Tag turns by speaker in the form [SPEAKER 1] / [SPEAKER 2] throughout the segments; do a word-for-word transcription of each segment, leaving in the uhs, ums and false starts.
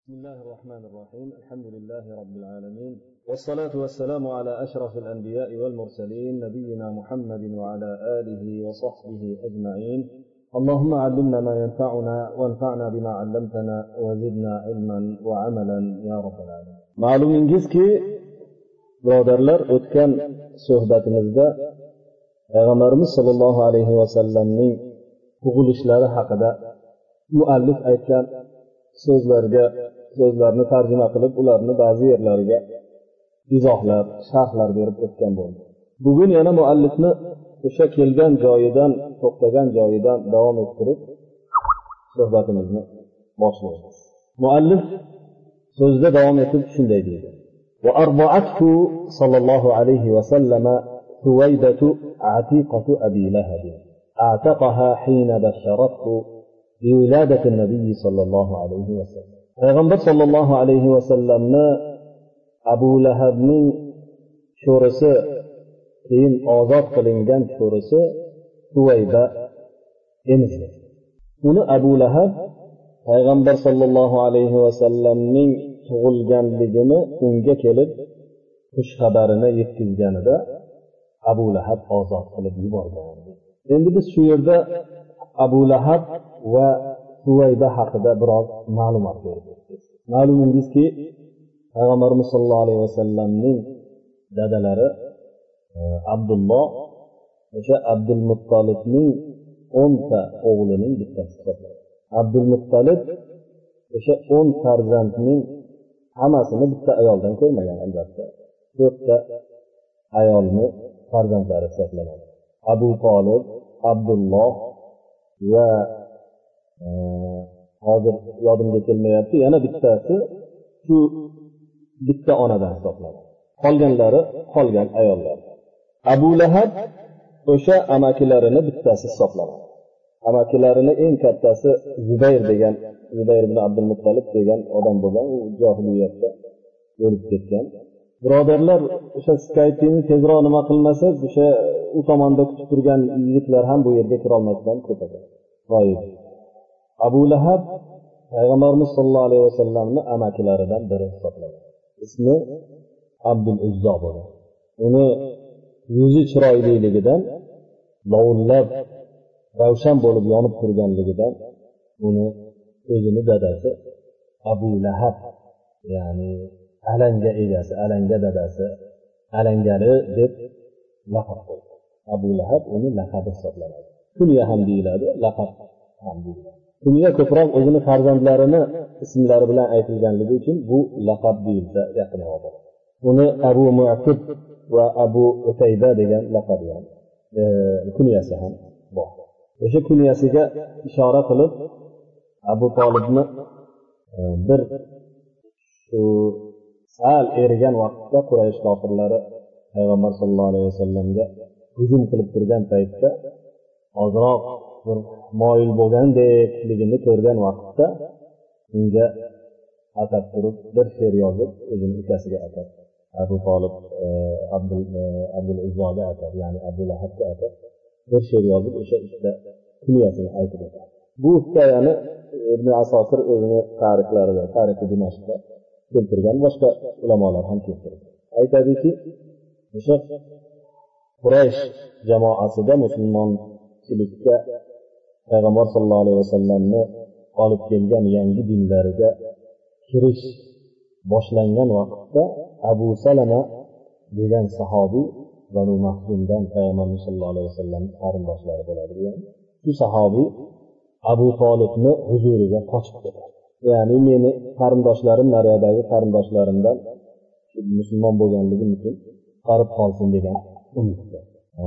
[SPEAKER 1] بسم الله الرحمن الرحيم. الحمد لله رب العالمين، والصلاة والسلام على أشرف الأنبياء والمرسلين نبينا محمد وعلى آله وصحبه أجمعين. اللهم علمنا ما ينفعنا وانفعنا بما علمتنا وزدنا علما وعملا يا رب العالمين. معلومingizki birodarlar, o'tgan suhbatimizda Payg'ambarimiz sollallohu alayhi vasallamning tug'ilishlari haqida muallif aytgan so'zlarga so'zlarni tarjima qilib, ularni ba'zi yerlariga izohlar, sharhlar berib o'tgan bo'ldi. Bugun yana muallifni o'sha kelgan joyidan, to'xtagan joyidan davom ettirib suhbatimizni boshlaymiz. Muallif so'zda davom etib shunday deydi: "Va arba'athu sallallohu alayhi va sallama Huwaybatu atiqatu Abi Lahab. A'taqaha hina basharathu بولادة النبي صلى الله عليه وسلم." Payg'ambar sollallohu alayhi vasallamni Abu Lahabning sho'risi, keyin ozod qilingan sho'risi Huwayba emizdi. Uni Abu Lahab Payg'ambar sollallohu alayhi vasallamning tug'ilganligini unga kelib xush xabarini yetkazganida Abu Lahab ozod qilib yuborgan. Endi biz shu yerda Abu Lahab va Huwayba haqida biroz ma'lumot beramiz. Ma'lumingizki, Payg'ambarimiz sollallohu alayhi vasallamning dadalari Abdulloh o'sha Abdul Muttolibning o'nta o'g'lining bittasi hisoblanadi. Abdul Muttolib o'sha o'n farzandning hammasini bitta ayoldan ko'rmagan, albatta. to'rtta ayolni farzandlari hisoblanadi. Abu Talib, Abdulloh va hozir yodimga kelmayapti, yana bittasi shu bitta onadan hisoblanadi. Qolganlari qolgan ayollar. Abu Lahab o'sha amakilarini bittasi hisoblanadi. Amakilarini eng kattasi Zubayr degan, Zubayr ibn Abdul Muttolib degan odam bo'lgan, u jahiliyatda o'lib ketgan. Birodarlar, o'sha Skype'ni tezroq nima qilmasak, o'sha u tomonda kutib turgan yigitlar ham bu yerga kira olmasdan ketadi. G'oyib. Abu Lahab Payg'ambarimiz sollallohu alayhi vasallamning amakilaridan biri hisoblanadi. Ismi Abdul Uzzo bo'lgan. Uni yuzi chiroyliligidan, lovullab ravshan bo'lib yonib turganligidan uni o'zini dadasi Abu Lahab, ya'ni alanga egasi, alanga dadasi, alangali deb laqab qo'ydi. Abu Lahab uni laqabi hisoblanadi. Kunya ham deyiladi, laqab ham deyiladi. Kunya ko'proq o'zini farzandlarini ismlari bilan aytilganligi uchun bu laqab deyilsa yaqinroq bo'ladi. Uni Abu Mu'tib va Abu Utayba degan laqab bilan e, kunyasi ham bor. O'sha kunyasiga ishora qilib Abu Talibni e, bir shu sal erigan vaqtda Quraysh kofirlari Payg'ambar sollallohu alayhi vasallamga hujum qilib turgan paytda ozroq bir moyil bo'lgandekligini ko'rgan vaqtda unga atab turib bir she'r yozib o'zini ukasiga atab, Abu Talib Abdul Abdul Uzzoga atab, ya'ni Abu Lahabga atab bir she'r yozib o'sha ikkita kunyasini aytib o'tadi. Bu hikoyani Ibn Asokir o'zini tarixlarida, tarixi Dimashqda keltirgan, boshqa ulamolar ham keltirgan. Aytadiki, o'sha Quraysh jamoasida musulmonchilikka Payg'ambar sollallohu alayhi vasallamni olib kelgan yangi dinlariga kirish boshlangan vaqtda Abu Salama degan sahobiy Banu Mahzumdan Payg'ambar sollallohu alayhi vasallamning qarindoshlari bo'ladi. Shu sahobiy Abu Talibni huzuriga qochib ketadi. Ya'ni meni qarindoshlarim, nariyadagi qarindoshlarimdan musulmon bo'lganligim uchun qarib qolsin degan umidda.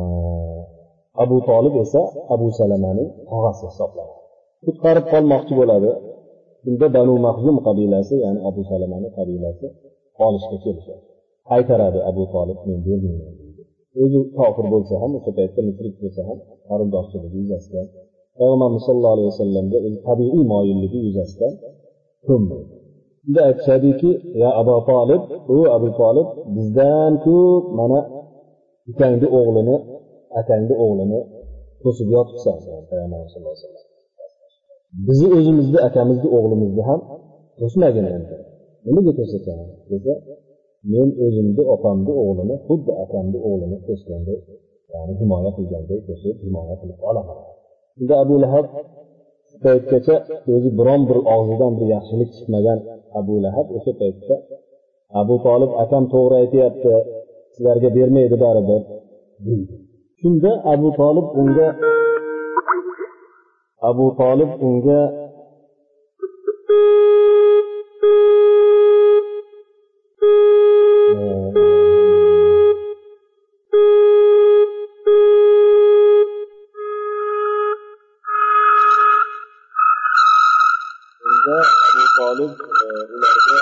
[SPEAKER 1] Abu Talib esa Abu Salamaning tog'asi hisoblanadi. Qutqarib qolmoqchi bo'ladi. Bunda Banu Mahzum qabilasi, ya'ni Abu Salamaning qabilasi olishga kelishadi. Qaytaradi Abu Talib, men bermayman deydi. O'zi kofir bo'lsa ham, o'sha paytda mushrik bo'lsa ham, qarindoshchiligi yuzasidan Payg'ambar sollallohu alayhi vasallamga o'z tabiiy moyilligi yuzasidan ko'mdi. Unda aytishadiki, ya Abu Talib, u Abu Talib bizdan ko'p mana ukangni o'g'lini, akangni o'g'lini to'sib yotibsan, Payg'ambar sollallohu alayhi vasallam. Bizni o'zimizni akamizni o'g'limizni ham to'smagin endi. Nimaga to'sasan desa, men o'zimni opamni o'g'lini xuddi akamni o'g'lini to'sgandek, ya'ni himoya qilgandek to'sib himoya qilib olaman. Unda Abu Lahab paytgacha o'zi biron bir og'zidan bir yaxshilik chiqmagan Abu Lahab o'sha paytda Abu Talib akam to'g'ri aytayapti, sizlarga bermaydi baribir deydi. Shunda Abu Talib unga Abu Talib unga Abu Talib ularga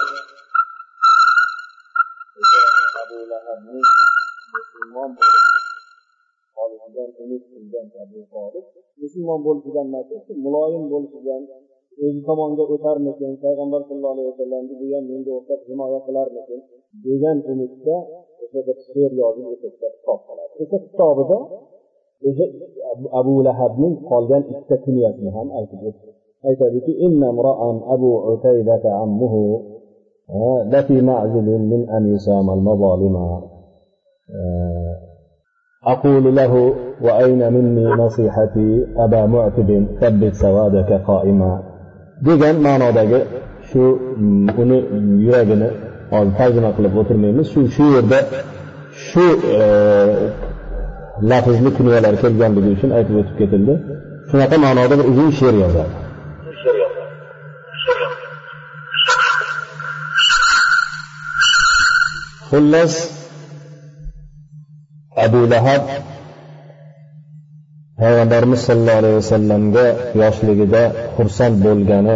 [SPEAKER 1] Abu Lahabning musulmon bo'lib qolishdan umid qilgan Abu Talib musulmon bo'lishidan emas, muloyim bo'lishidan, o'zi tomonga o'tarmikin, payg'ambar sallallohu alayhi vasallamni bu ham menga o'xshab himoya qilarmikin degan umidda o'sha bir she'r yozib o'sha kitob qoladi. O'sha kitobida o'sha Abu Lahabning qolgan ikkita kunyasini ham aytib o'tdi. aytadiki, inna mra'an Abu Utaybata ammuhu lafi ma'zilin min an yusama al-mazalima aqulu lahu wa ayna minni nasihati aba mu'tibin thabbit sawadaka qa'ima degan ma'nodagi shu uni yuragini hozir tarjima qilib o'tirmaymiz. Shu shu yerda shu lafzli kunyalar kelganligi uchun aytib o'tib ketildi. Shunaqa ma'noda bir uzun she'r yozadi. Xullas Abu Lahab Payg'ambarimiz sollallohu alayhi vasallamga yoshligida xursand bo'lgani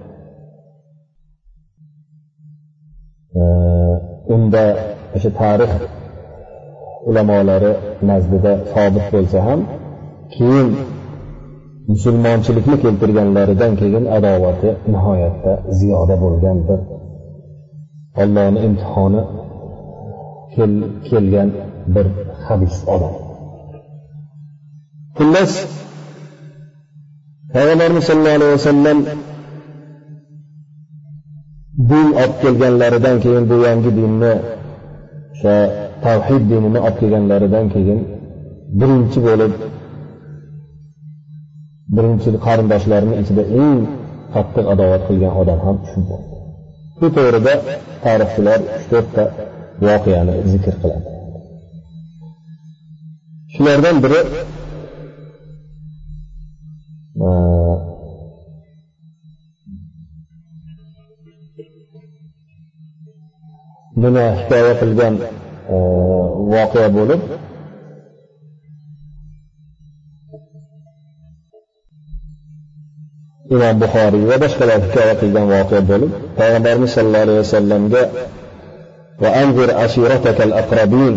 [SPEAKER 1] unda o'sha tarix ulamolari nazdida sobit bo'lsa ham, keyin musulmonchilikni keltirganlaridan keyin adovati nihoyatda ziyoda bo'lgandir. Allohning imtihoni kel, kelgan bir habis odam. Xullas Payg'ambarimiz sollallohu alayhi vasallam din olib kelganlaridan keyin, bu yangi dinni, o'sha tavhid dinini olib kelganlaridan keyin birinchi bo'lib birinchi qarindoshlarining ichida eng qattiq adovat qilgan odam ham shu bo'ldi. Bu to'g'rida tarixchilar uch to'rtta voqeani zikr qiladi. Shulardan biri buni hikoya qilgan voqea bo'lib, Imom Buxoriy va boshqalar hikoya qilgan voqea bo'lib, Payg'ambarimiz sollallohu alayhi vasallamga va anzir ashiratakal aqrabin,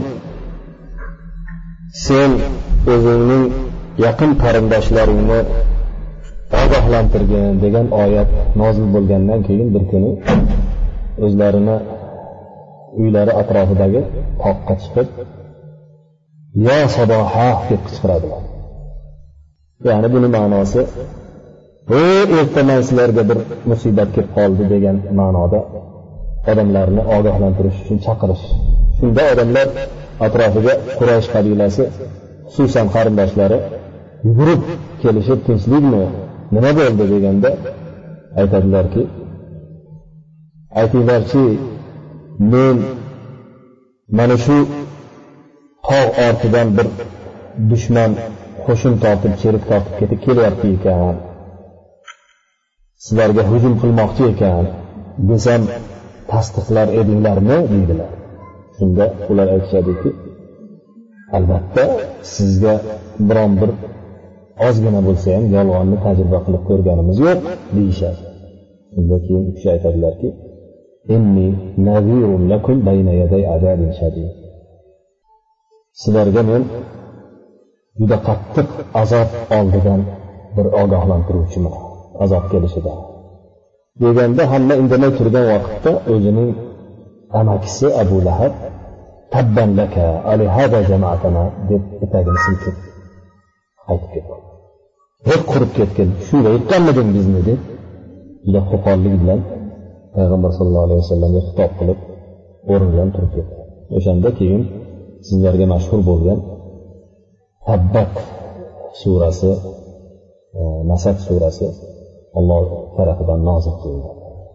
[SPEAKER 1] sen o'zingning yaqin qarindoshlaringni ogohlantirgin degan oyat nozil bo'lgandan keyin bir kuni o'zlarini uylari atrofidagi toqqa chiqib, yo saboha deb qichqiradilar. Ya'ni buni ma'nosi, "Ey ertaman sizlarga bir musibat kelib qoldi" degan ma'noda odamlarni ogohlantirish uchun chaqirish. Shunda odamlar atrofiga Quraysh qabilasi, xususan qarindoshlari yugurib kelishib, tinchlikmi, nima bo'ldi deganda aytadilarki, aytinglarchi, men mana shu tog' ortidan bir dushman qo'shin tortib, cherik tortib ketib kelyapti ekan, sizlarga hujum qilmoqchi ekan desam tasdiqlar edinglarmi deydilar. Shunda ular aytishadiki, albatta sizga biron bir ozgina bo'lsa ham yolg'onni tajriba qilib ko'rganimiz yo'q deyishadi. Shunda keyin u kishi aytadilarki, inni nazirun lakum bayna yaday azabin shadid. Sizlarga men juda qattiq azob oldidan bir ogohlantiruvchiman, azob kelishida. Deganda hamma indamay turgan vaqtda o'zining amakisi Abu Lahab tabban laka ali hada jama'atana deb etagini silkib qaytib ketdi. Hech qurib ketgan, shunga aytganmiding bizni deb juda qo'pollik bilan payg'ambar sallallohu alayhi vasallamga xitob qilib o'rnidan turib ketdi. O'shanda keyin sizlarga mashhur bo'lgan Tabbat surasi, Masad surasi Alloh tarafidan nozil qilindi.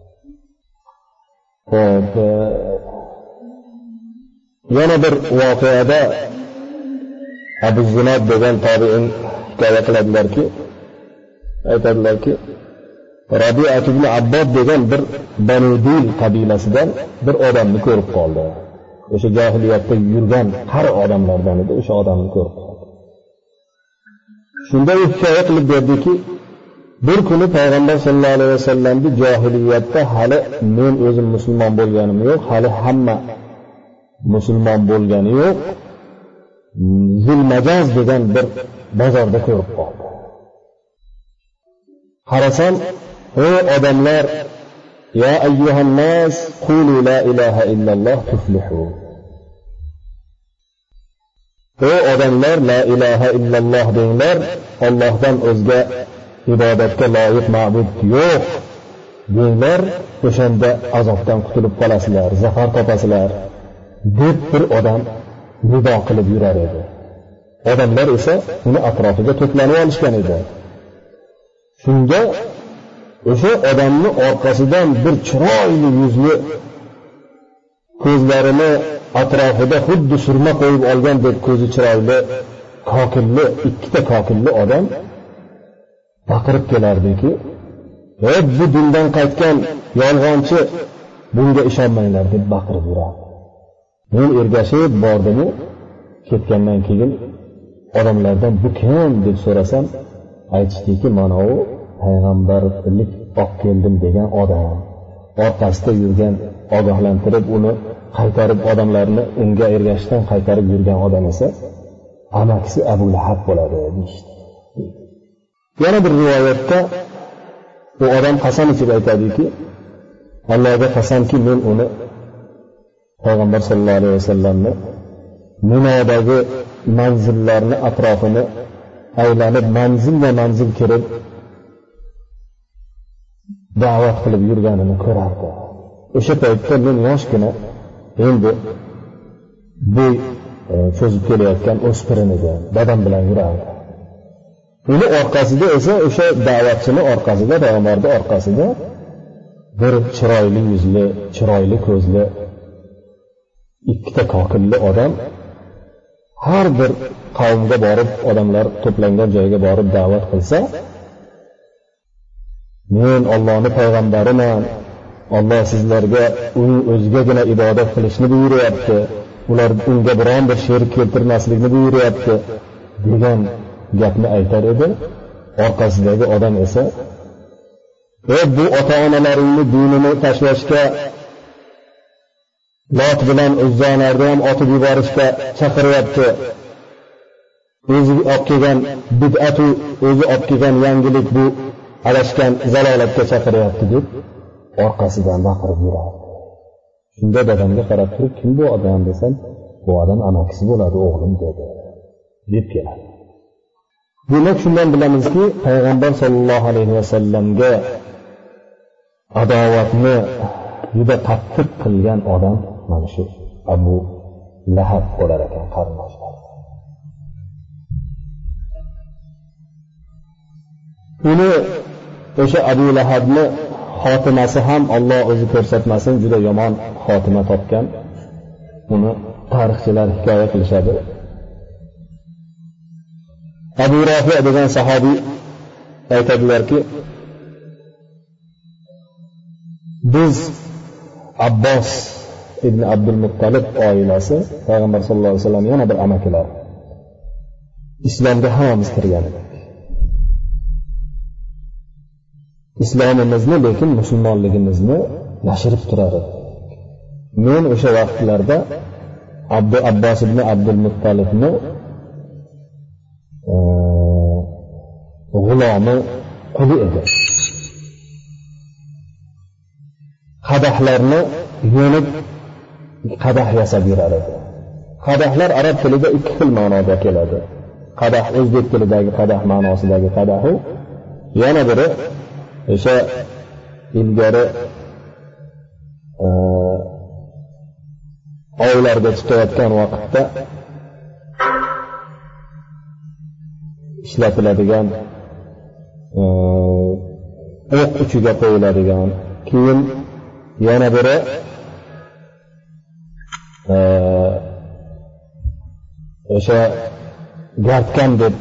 [SPEAKER 1] Xo'p, yana bir voqeada Abu Zinad degan tobiin hikoya qiladilarki, aytadilarki, Rabi'at ibn Abbod degan bir Banu Dil qabilasidan bir odamni ko'rib qoldi. O'sha jahiliyatda yurgan qari odamlardan edi, o'sha odamni ko'rib qoldi. Shunda u hikoya qilib berdiki, bir kuni payg'ambar sollallohu alayhi vasallamni jahiliyatda hali men o'zim musulmon bo'lganim yo'q, hali hamma musulmon bo'lgani yo'q, Zulmajaz degan bir bozorda ko'rib qoldi. Qarasam, ey odamlar, ya ayyuhan nas, qulu la ilaha illalloh tuflihu. Ey odamlar, la ilaha illalloh denglar, Allohdan o'zga ibodatga loyiq ma'bud yo'q denglar, o'shanda azobdan qutulib qolasizlar, zafar topasizlar deb bir odam nido qilib yurar edi. Odamlar esa uni atrofiga to'planib olishgan edi. Shunda o'sha odamning orqasidan bir chiroyli yuzli, ko'zlarini atrofida xuddi surma qo'yib olgandek ko'zi chiroyli, kokilli, ikkita kokilli odam baqirib kelardiki, "Ey bu dindan qaytgan yolg'onchi, bunga ishonmanglar" deb baqirib yurardi. Men ergashib bordim, ketgandan keyin odamlardan bu kim deb so'rasam, aytishdiki, mana u payg'ambarlik olib keldim degan odam. Orqasida yurgan, ogohlantirib uni qaytarib odamlarni unga ergashishdan qaytarib yurgan odam esa amakisi Abu Lahab bo'ladi deyishdi. Yana bir rivoyatda u odam qasam ichib aytadiki, Allohga qasamki, men uni payg'ambar sollallohu alayhi vasallamni Minodagi manzillarni atrofini aylanib manzilma manzil kirib da'vat qilib yurganini ko'rardi. O'sha paytda men yoshgina, endi bo'y cho'zib kelayotgan o'spirin edi, dadam bilan yurardi. Uni orqasida esa o'sha da'vatchini orqasida, payg'ambarning orqasida bir chiroyli yuzli, chiroyli ko'zli ikkita kokilli odam har bir qavmga borib, odamlar to'plangan joyga borib da'vat qilsa, men Allohning payg'ambariman, Alloh sizlarga uning o'zigagina ibodat qilishni buyuryapti, ular unga biron bir sherik keltirmaslikni buyuryapti degan gapni aytar edi. Orqasidagi odam esa, "Ey bu ota-onalaringni dinini tashlashga, Lot bilan Uzzonlarni ham otib yuborishga chaqiryapti. O'zi olib kelgan bid'atu, o'zi olib kelgan yangilik bu adashgan zalolatga chaqiryapti" deb orqasidan baqirib yurardi. Shunda dadamga qarab turib, "Kim bu odam?" desam, "Bu odam amakisi bo'ladi, o'g'lim" dedi, deb keladi. Demak, shundan bilamizki, payg'ambar sollallohu alayhi vasallamga adovatni juda qattiq qilgan odam mana shu Abu Lahab bo'lar ekan, qarindoshlar. Uni o'sha Abu Lahabni xotimasi ham Alloh o'zi ko'rsatmasin, juda yomon xotima topgan. Uni tarixchilar hikoya qilishadi. Abu Rafi degan sahobiy aytadilarki, biz Abbos ibn Abdul Muttalib oilasi, payg'ambar sollallohu alayhi vasallam yana bir amakilar, islomga hammamiz kirgan edik. Islomimizni, lekin musulmonligimizni yashirib turar edik. Men o'sha vaqtlarda Abdu Abbos ibn Abdul Muttalibni g'ulomi, quli edi. Qadahlarni yo'nib qadah yasab yurar edi. Qadahlar arab tilida ikki xil ma'noda keladi. Qadah o'zbek tilidagi qadah ma'nosidagi qadahu, yana biri o'sha ilgari ovlarga chiqayotgan vaqtda ishlatiladigan o'q uchiga qo'yiladigan, keyin yana biri o'sha gartkan deb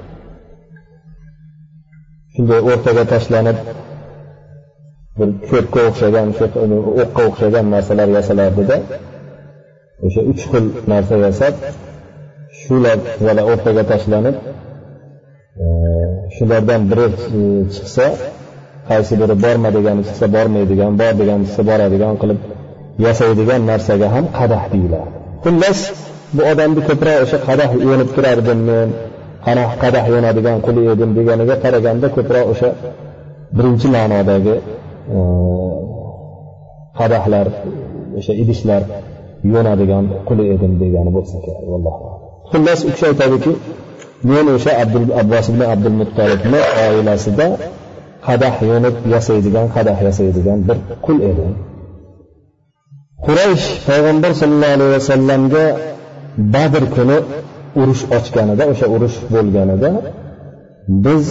[SPEAKER 1] shunday o'rtaga tashlanib bir ko'pga o'xshagan, o'qqa o'xshagan narsalar yasalardida, o'sha uch xil narsa yasab, shular yana o'rtaga tashlanib, shulardan biri chiqsa, qaysi biri borma degani chiqsa bormaydigan, bor degani chiqsa boradigan qilib yasaydigan narsaga ham qadah deyiladi. Xullas, bu odamni ko'proq o'sha qadah yonib turardim men, qana qadah yonadigan qul edim deganiga qaraganda ko'proq o'sha birinchi ma'nodagi qadahlar, o'sha idishlar yonadigan qul edim degani bo'lsa kerak, vallohu. Xullas, u kishi aytadiki, men o'sha Abdul Abbos ibn Abdul Muttalibni oilasida qadah yonib yasaydigan, qadah yasaydigan bir qul edim. Quraysh payg'ambar sollallohu alayhi vasallamga Badr kuni urush ochganida, o'sha urush bo'lganida biz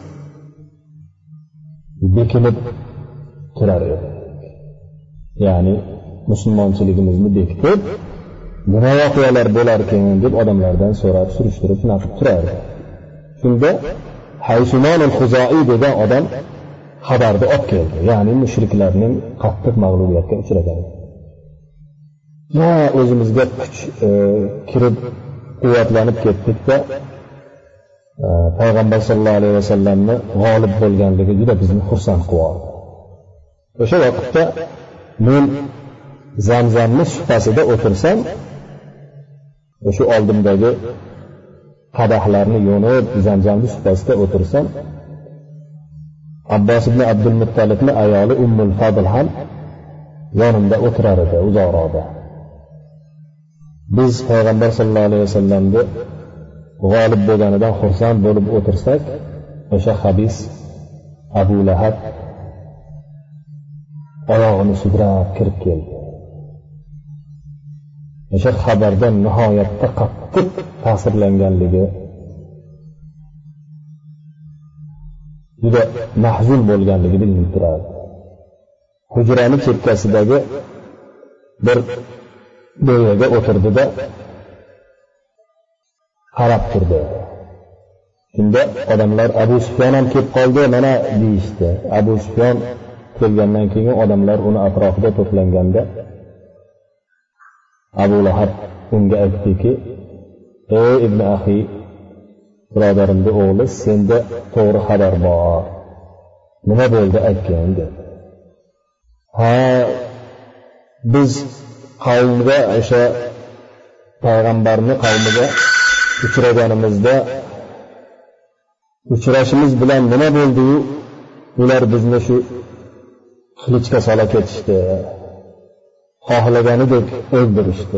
[SPEAKER 1] bekinib turar edik. Ya'ni musulmonchiligimizni bekitib, nima voqealar bo'lar ekan deb odamlardan so'rab, surishtirib naqib turardi. Shunda Haysuman al-Khuzai degan odam xabarni olib keldi. Ya'ni mushriklarning qattiq mag'lubiyatga uchragan. Ya o'zimizga kuch e, kirib quvvatlanib ketdik-da, e, payg'ambar sollallohu alayhi vasallamni g'olib bo'lganligi juda bizni xursand qildi. O'sha vaqtda men Zamzamni supasida o'tirsam, o'sha oldimdagi qadahlarni yo'nib Zamzamni supasida o'tirsam, Abbos ibn Abdul Muttalibni ayoli Ummul Fadl ham yonimda o'tirar edi, uzoqroqda. Biz payg'ambar sollallohu alayhi vasallamga g'olib bo'lganidan xursand bo'lib o'tirsak, o'sha xabis Abu Lahab oyog'ini sudrab kirib keldi. O'sha xabardan nihoyatda qattiq ta'sirlanganligi, juda mahzun bo'lganligi bilinib turadi. Hujrani chekkasidagi bir bo'yaga o'tirdida qarab turdi. Shunda odamlar Abu Sufyon ham kelib qoldi, mana deyishdi. Abu Sufyon kelgandan keyin odamlar uni atrofida to'planganda Abu Lahab unga aytdiki, ey ibn axi, birodarimning o'g'li, senda to'g'ri xabar bor. Nima bo'ldi aytgan dedi. Ha, biz qavmga, o'sha payg'ambarni qavmiga uchraganimizda uchrashimiz bilan nima bo'ldi-yu, ular bizni shu qilichga sola ketishdi. Xohlaganidek o'ldirishdi.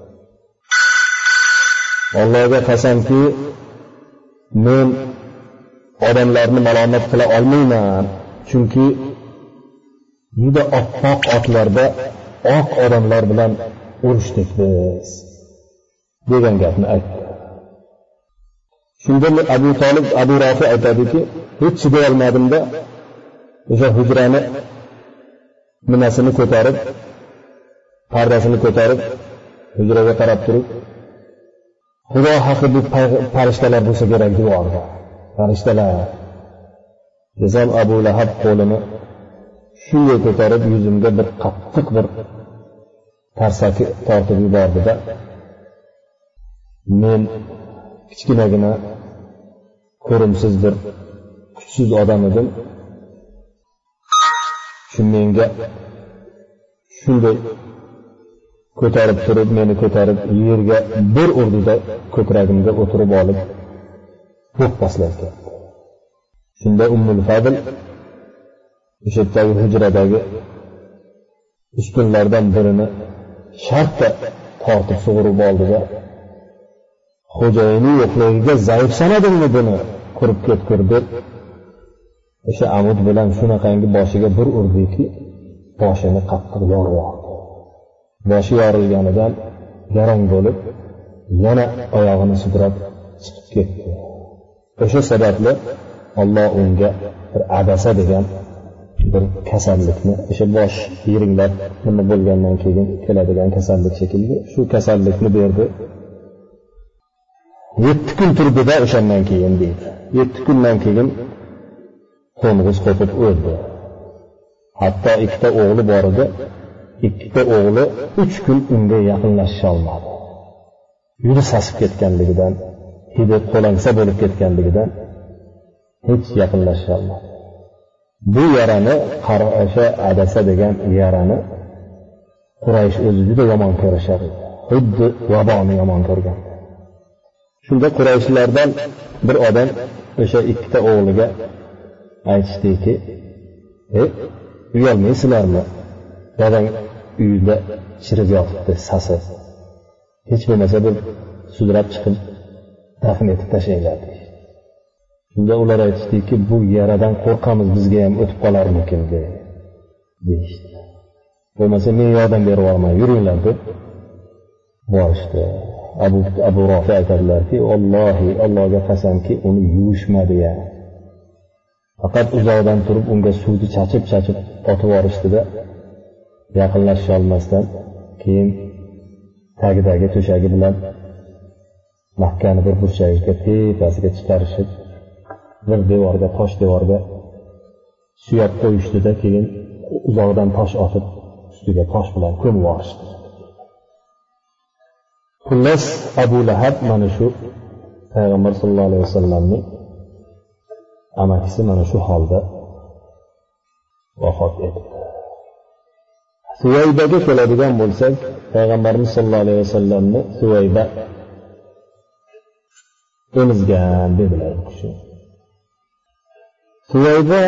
[SPEAKER 1] Allohga qasamki, men odamlarni malomat qila olmayman, chunki juda oppoq otlarda oq odamlar bilan urushdik biz, degan gapni aytdi. Shunda Abu Talib, Abu Rafi aytadiki, hech chiday olmadimda, o'sha hujrani nimasini ko'tarib, pardasini ko'tarib, hujraga qarab turib, Xudo haqqi bu farishtalar bo'lsa kerak deb oldi. Farishtalar. Desam Abu Lahab qo'lini shunday ko'tarib yuzimga bir qattiq bir tarsaki tortib yubordida, men kichkinagina ko'rimsiz bir kuchsiz odam edim. Shu menga shunday ko'tarib turib, meni ko'tarib yerga bir urdida ko'kragimga o'tirib olib, o'q tashladi. Shunda Ummul Fadl o'sha hujradagi ustunlardan birini shartta tortib sug'urib oldi-da, xo'jayini yo'qligiga zaif sanadimmi buni, qurib ketgur deb o'sha amud bilan shunaqangi boshiga bir urdiki, boshini qattiq yorib oldi. boshi yorilganidan garang bo'lib yana oyog'ini sudrab chiqib ketdi. O'sha sababli Alloh unga bir adasa degan bir kasallikni, o'sha bosh yiringlab nima bo'lgandan keyin keladigan kasallik shekilli, shu kasallikni berdi. yetti kun turdida o'shandan keyin deydi. yetti kundan keyin qo'ng'iz qo'pib o'ldi. Hatto ikkita o'g'li bor edi. Ikkita o'g'li uch kun unga yaqinlasha olmadi. Yuri sasib ketganligidan, hidi qo'lansa bo'lib ketganligidan hech yaqinlasha olmadi. Bu yarani, qarasha adasa degan yarani Quraysh o'zi juda yomon ko'rishar edi. Xuddi vaboni yomon ko'rgan. Shunda Qurayshlardan bir odam o'sha ikkita o'g'liga aytishdiki, "Ey, uyalmaysizlarmi? Dadang uyda chirib yotibdi, sasib. Hech bo'lmasa bir sudrab chiqib dafn etib tashlanglar." Shunda ular aytishdiki, "Bu yaradan qo'rqamiz, bizga ham o'tib qolarmikin" deyishdi. Bo'lmasa men yordam berib yuboraman, yuringlar deb borishdi. Abu Abu Rafi aytadilarki, "Allohi, Allohga qasamki, uni yuvishmadi ya. Faqat uzoqdan turib unga suvni chachib-chachib otib yuborishdi-da, yaqinlasha olmasdan keyin tagidagi to'shagi bilan Makkani bir burchagiga tepasiga chiqarishib, bir devorga, tosh devorga suyab qo'yishdi-da, keyin uzoqdan tosh otib ustiga tosh bilan ko'mib yuborishdi." Xullas Abu Lahab mana shu Payg'ambar sollallohu alayhi vasallamning amakisi mana shu holda vafot etdi. Suvaybaga keladigan bo'lsak, Payg'ambarimiz sollallohu alayhi vasallamni Suvayba emizgan dedilar bu kishi. Suvayba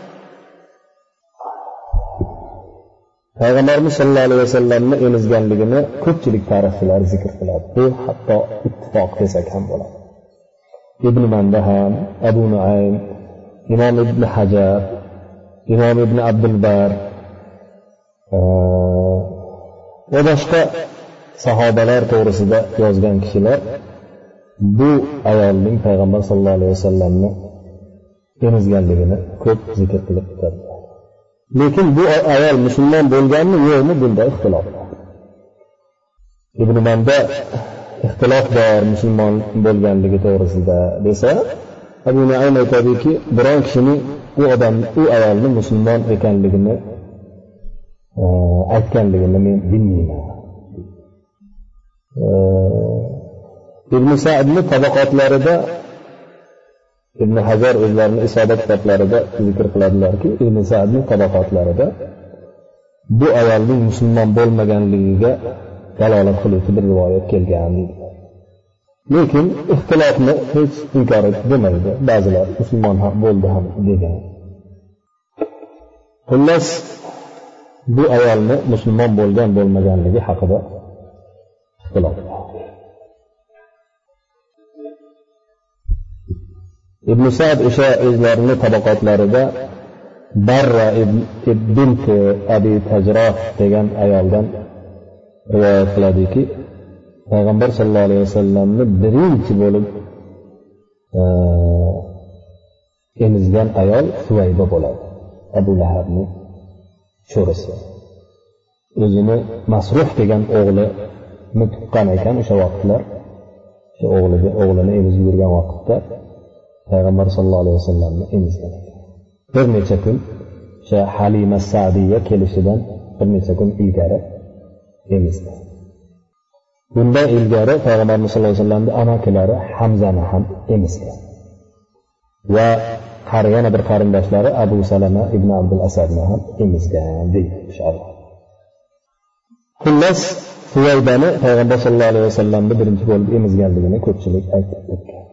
[SPEAKER 1] Payg'ambarimiz sollallohu alayhi vasallamni emizganligini ko'pchilik tarixchilar zikr qiladi. Bu hatto ittifoq desak ham bo'ladi. Ibn Manda ham, Abu Nuaym, Imom Ibn Hajar, Imom Ibn Abdul Bar va boshqa sahobalar to'g'risida yozgan kishilar bu ayolning Payg'ambar sollallohu alayhi vasallamni emizganligini ko'p zikr qilib o'tadi. Lekin bu ayol musulmon bo'lganmi yo'qmi, bunda ixtilof bor. Ibn Manda ixtilof bor musulmon bo'lganligi to'g'risida desa, Abu Nuaym aytadiki, biron kishining u odam, u ayolni musulmon ekanligini aytganligini men bilmayman. Ibn Sa'dning tabaqotlarida Ibn Hajar o'zlarining isobat kitoblarida zikr qiladilarki, Ibn Sa'dning tabaqotlarida bu ayolning musulmon bo'lmaganligiga dalolat qiluvchi bir rivoyat kelgan. Lekin ixtilofni hech inkor etmaydi. Ba'zilar musulmon ham bo'ldi ham degan. Xullas bu ayolni musulmon bo'lgan bo'lmaganligi haqida ixtilof bor. Ibn Sa'd o'sha o'zlarining tabaqotlarida Barra bint Abi Tajroh degan ayoldan rivoyat qiladiki, Payg'ambar sollallohu alayhi vasallamni birinchi bo'lib emizgan ayol Suvayba bo'ladi. Abu Lahabning sho'risi. O'zini Masruh degan o'g'lini tuqqan ekan o'sha vaqtlar. O'sha o'g'liga o'g'lini emizib yurgan vaqtda Payg'ambar sollallohu alayhi vasallamni emizgan. Bir necha kun o'sha Halima Sa'diya kelishidan bir necha kun ilgari emizgan. Bundan ilgari Payg'ambarimiz sollallohu alayhi vasallamning amakilari Hamzani ham emizgan. Va qariyana bir qarindoshlari Abu Salama ibn Abdul Asadni ham emizgan deydi shariat. Xullas Suvaybani Payg'ambar sollallohu alayhi vasallamni birinchi bo'lib emizganligini ko'pchilik aytib o'tgan.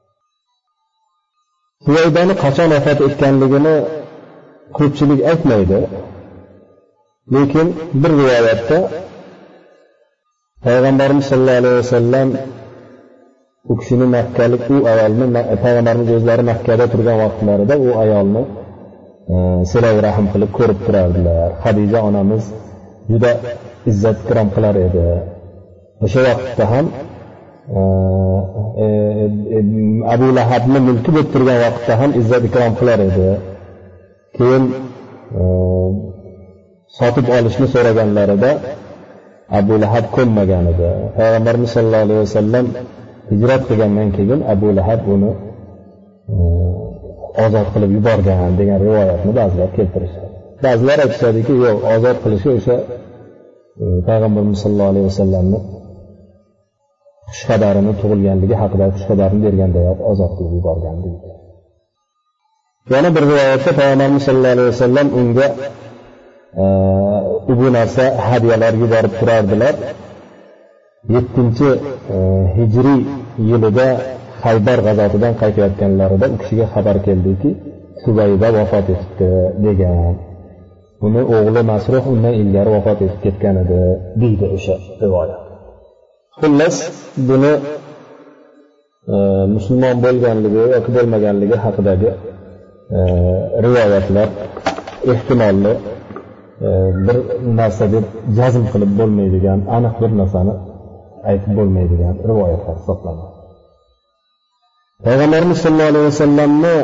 [SPEAKER 1] Suvaybani qachon vafot etganligini ko'pchilik aytmaydi. Lekin bir rivoyatda Payg'ambarimiz sollallohu alayhi vasallam u kishini makkalik u ayolni Payg'ambarimiz o'zlari Makkada turgan vaqtlarida u ayolni silay rahim qilib ko'rib turardilar. Xadija onamiz juda izzat ikrom qilar edi. O'sha vaqtda ham Abu Lahabni mulki bo'lib turgan vaqtda ham izzat ikrom qilar edi. Keyin sotib olishni so'raganlarida Abu Lahab ko'nmagan edi. Payg'ambarimiz sollallohu alayhi vasallam hijrat qilgandan keyin Abu Lahab uni ozod qilib yuborgan degan rivoyatni ba'zilar keltirishadi. Ba'zilar aytishadiki, yo'q, ozod qilishi o'sha Payg'ambarimiz sollallohu alayhi vasallamni xushxabarini tug'ilganligi haqida xushxabarini bergandayoq ozod qilib yuborgan deydi. Yana bir rivoyatda Payg'ambarimiz sollallohu alayhi vasallam unga bu narsa hadyalar yuborib turardilar. yettinchi hijriy yilida Xaybar g'azotidan qaytayotganlarida u kishiga xabar keldiki, Subayda vafot etdi degan. Uni o'g'li Masruh undan ilgari vafot etib ketgan edi deydi o'sha rivoyat. Xullas, buni e, musulmon bo'lganligi yoki bo'lmaganligi haqidagi e, rivoyatlar ehtimolli e, bir narsa deb jazm qilib bo'lmaydigan, aniq bir narsani aytib bo'lmaydigan rivoyatlar hisoblanadi. Payg'ambarimiz sollallohu alayhi vasallamni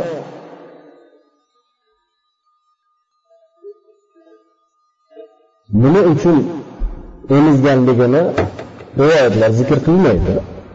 [SPEAKER 1] nima uchun emizganligini rivoyatlar zikr qilmaydi.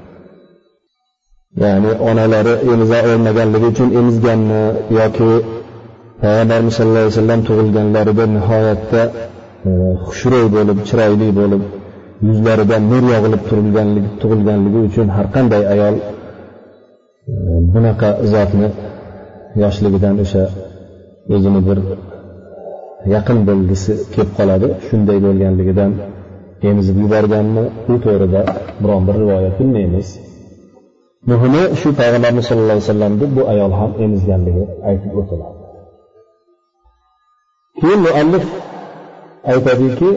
[SPEAKER 1] Ya'ni onalari emiza olmaganligi uchun emizganmi yoki Payg'ambarimiz sollallohu alayhi vasallam tug'ilganlarida nihoyatda xushro'y bo'lib, chiroyli bo'lib, yuzlaridan nur yog'ilib turilganligi tug'ilganligi uchun har qanday ayol bunaqa zotni yoshligidan o'sha o'zini bir yaqin bo'lgisi kelib qoladi. Shunday bo'lganligidan emizib yuborganmi, bu to'g'rida biron bir rivoyat bilmaymiz. Muhimi shu Payg'ambarimiz sollallohu alayhi vasallamni bu ayol ham emizganligi aytib o'tiladi. Keyin muallif aytadiki,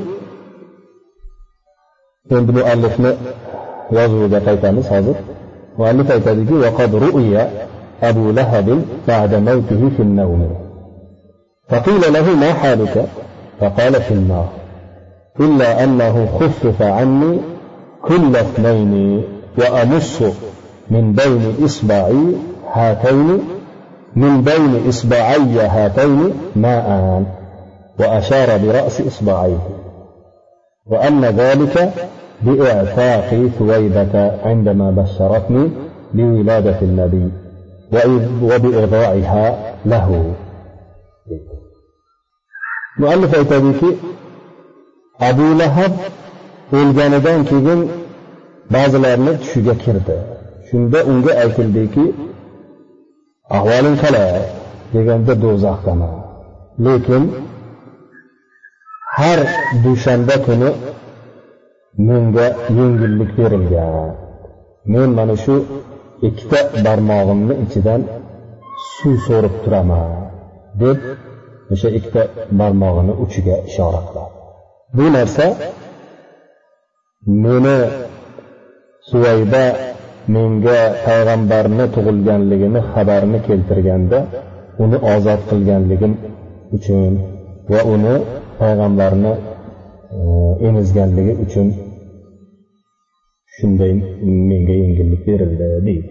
[SPEAKER 1] endi muallifni yozuviga qaytamiz hozir. Muallif aytadiki, وَقَدْ رُؤِيَ أَبُو لَهَبٍ بَعْدَ مَوْتِهِ فِي النَّوْمِ فقيل له ما حالك؟ فقال في النار إلا أنه خفف عني كل اثنين وأمص من بين إصبعي هاتين من بين إصبعي هاتين ماء، وأشار برأس إصبعيه، وأن ذلك بإعتاق ثويبة عندما بشرتني بولادة النبي وبإرضاعها له. Muallif aytadiki, Abu Lahab o'lganidan keyin ba'zilarning tushiga kirdi. Shunda unga aytildiki, ahvoling qalay deganda do'zaxdaman. Lekin har dushanba kuni menga yengillik berilgan. Men mana shu ikkita barmog'imni ichidan suv so'rib turaman deb o'sha ikkita barmog'ini uchiga ishora qiladi. Bu narsa meni Suvayba menga payg'ambarni tug'ilganligini xabarini keltirganda uni ozod qilganligim uchun va uni payg'ambarni emizganligi uchun shunday menga yengillik berildi deydi.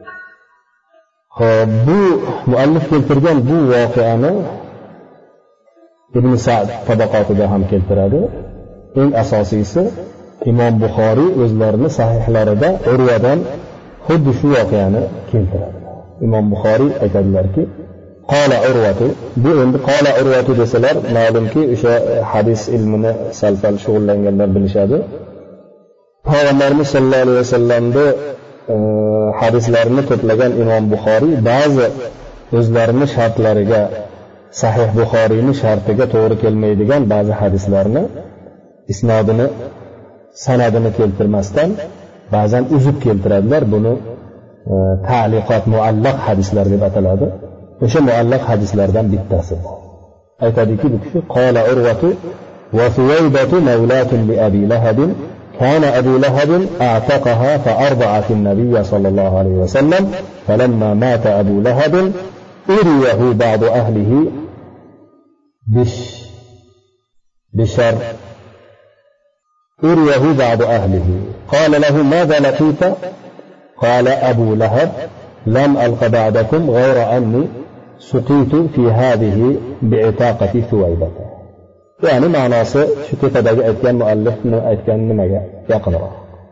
[SPEAKER 1] Xo'p, bu muallif keltirgan bu voqeani Ibn Sa'd tabaqotida ham keltiradi. Eng asosiysi Imom Buxoriy o'zlarini sahihlarida Urvadan xuddi shu voqeani keltiradi. Imom Buxoriy aytadilarki, qala Urvatu, bu endi qala Urvatu desalar, ma'lumki o'sha hadis ilmini sal-pal shug'ullanganlar bilishadi. Payg'ambarimiz sollallohu alayhi vasallamning hadislarini to'plagan Imom Buxoriy ba'zi o'zlarining shartlariga, Sahih Buxoriyning shartiga to'g'ri kelmaydigan ba'zi hadislarni isnodini, sanadini keltirmasdan ba'zan uzib keltiradilar. Buni ta'liqot, muallaq hadislar deb ataladi. O'sha muallaq hadislardan bittasi. Aytadiki bu kishi qala Urvatu va Suwaybatu mawlatun li Abi Lahab كان أبو لهب أعتقها فأرضعت النبي صلى الله عليه وسلم، فلما مات أبو لهب أريه بعض أهله بش بشر أريه بعض أهله قال له ماذا لقيت؟ قال أبو لهب لم ألق بعدكم غير أني سقيت في هذه بعتاقة ثويبة. يعني معنى شو كيف بدأ كان مؤلف كان ما يقرأ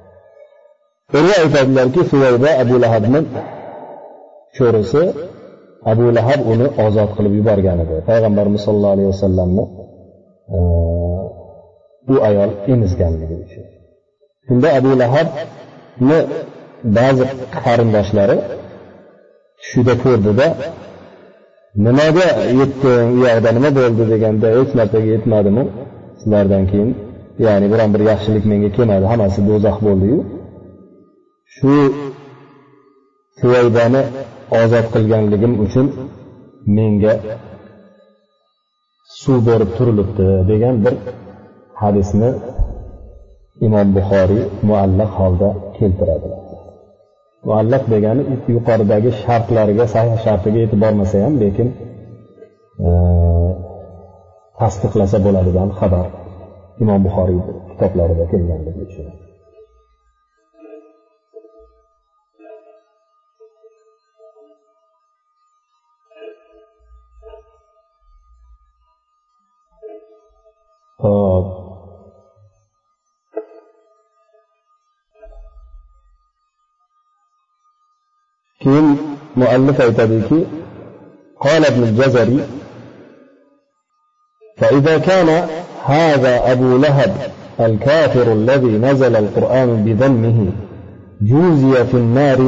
[SPEAKER 1] رواية لك ثويبة أبو لهب من شورسه أبو لهب uni ozod qilib yuborgan edi. Payg'ambarimiz sollallohu alayhi vasallamni bu ayol emizganligi uchun. Shunda Abu Lahabni ba'zi qarindoshlari tushida ko'rdida nimaga yetding, u yoqda nima bo'ldi deganda hech narsaga yetmadimi sizlardan keyin, ya'ni biron bir yaxshilik menga kelmadi, hammasi do'zax bo'ldi-yu. Shu Suvaybani ozod qilganligim uchun menga suv berib turilibdi degan bir hadisni Imom Buxoriy muallaq holda keltiradi. Muallaq degani yuqoridagi shartlariga, sahih shartiga yetib bormasa ham, lekin tasdiqlasa bo'ladigan xabar Imom Buxoriy kitoblarida kelganligi uchun. كين مؤلف aytadiki قال ابن الجزري فإذا كان هذا أبو لهب الكافر الذي نزل القرآن بذمه جوزي في النار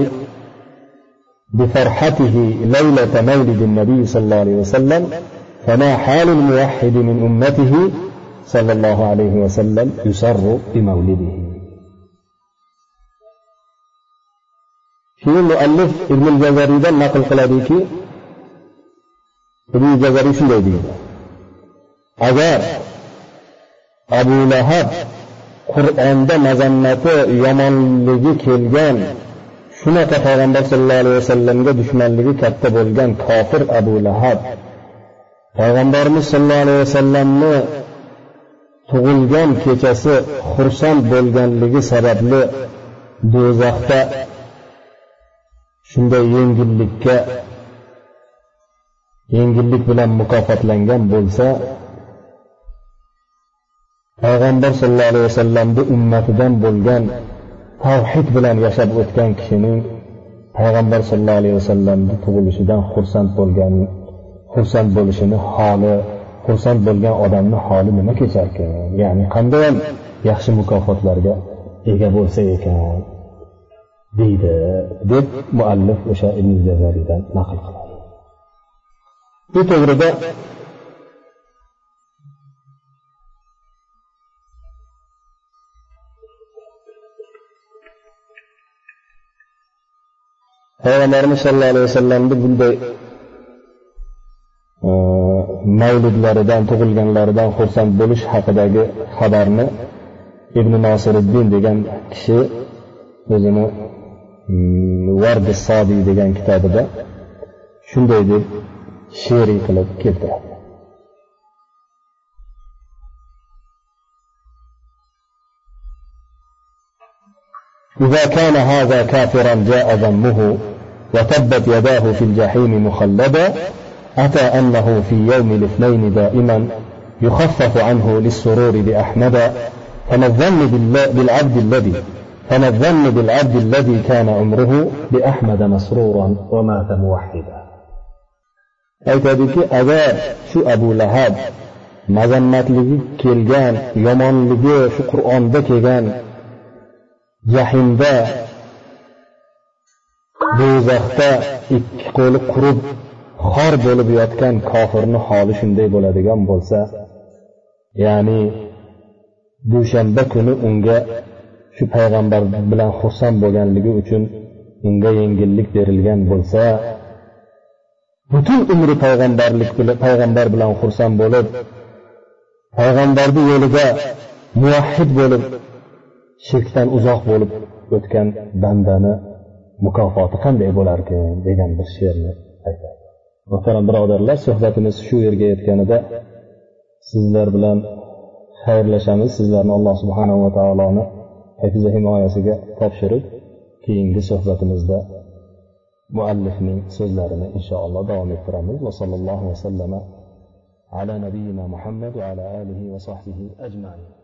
[SPEAKER 1] بفرحته ليلة مولد النبي صلى الله عليه وسلم فما حال الموحد من أمته صلى الله عليه وسلم يسر بمولده. في المؤلف ابن الجزري ده نقل قلاديكي ابن الجزري شو يدي أجر أبو لهب قرآن ده مزنته يمن لجي كيلجان shunaqa payg'ambar sollallohu alayhi vasallamga dushmanligi katta bo'lgan kofir Abu Lahab payg'ambarimiz sollallohu alayhi vasallamni tug'ilgan kechasi xursand bo'lganligi sababli do'zaxda shunday yengillikka yengillik bilan mukofotlangan bo'lsa, payg'ambar sollallohu alayhi vasallamning ummatidan bo'lgan tavhid bilan yashab o'tgan kishining payg'ambar sollallohu alayhi vasallamning tug'ilishidan xursand bo'lgan xursand bo'lishini holi, xursand bo'lgan odamning holi nima kecharkan? Ya'ni qanday yaxshi mukofotlarga ega bo'lsa ekan deydi deb muallif o'sha Ibn Jazariydan naql qiladi. Bu to'g'rida Payg'ambarimiz sollallohu alayhi vasallamning bunday mavludlaridan, tug'ilganlaridan xursand bo'lish haqidagi xabarni Ibn Nosiriddin degan kishi o'zini Vardi Sodi degan kitobida shunday deb she'riy qilib keltiradi. إذا كان هذا كافرا جاء ذمه وتبت يداه في الجحيم مخلدا أتى أنه في يوم الاثنين دائما يخفف عنه للسرور بأحمد فما الظن بالعبد الذي فما الظن بالعبد الذي كان عمره بأحمد مسرورا ومات موحدا. aytadiki, agar shu Abu Lahab mazammatligi kelgan, yomonligi shu Qur'onda kelgan jahimda, do'zaxda ikki qo'li qurib xor bo'lib yotgan kofirni holi shunday bo'ladigan bo'lsa, ya'ni dushanba kuni unga shu payg'ambar bilan xursand bo'lganligi uchun unga yengillik berilgan bo'lsa, butun umri payg'ambarlik bilan payg'ambar bilan xursand bo'lib, payg'ambarning yo'lida muvahhid bo'lib, shirkdan uzoq bo'lib o'tgan bandani mukofoti qanday bo'lar ekan degan bir she'rni aytadi. Muhtaram birodarlar, suhbatimiz shu yerga yetganida sizlar bilan xayrlashamiz. Sizlarni Alloh subhanahu va taoloni hifz va himoyasiga topshirib, keyingi suhbatimizda muallifning so'zlarini inshaalloh davom ettiramiz. Va sallallohu va sallama ala nabiyyina Muhammad va ala alihi va sahbihi ajma'in.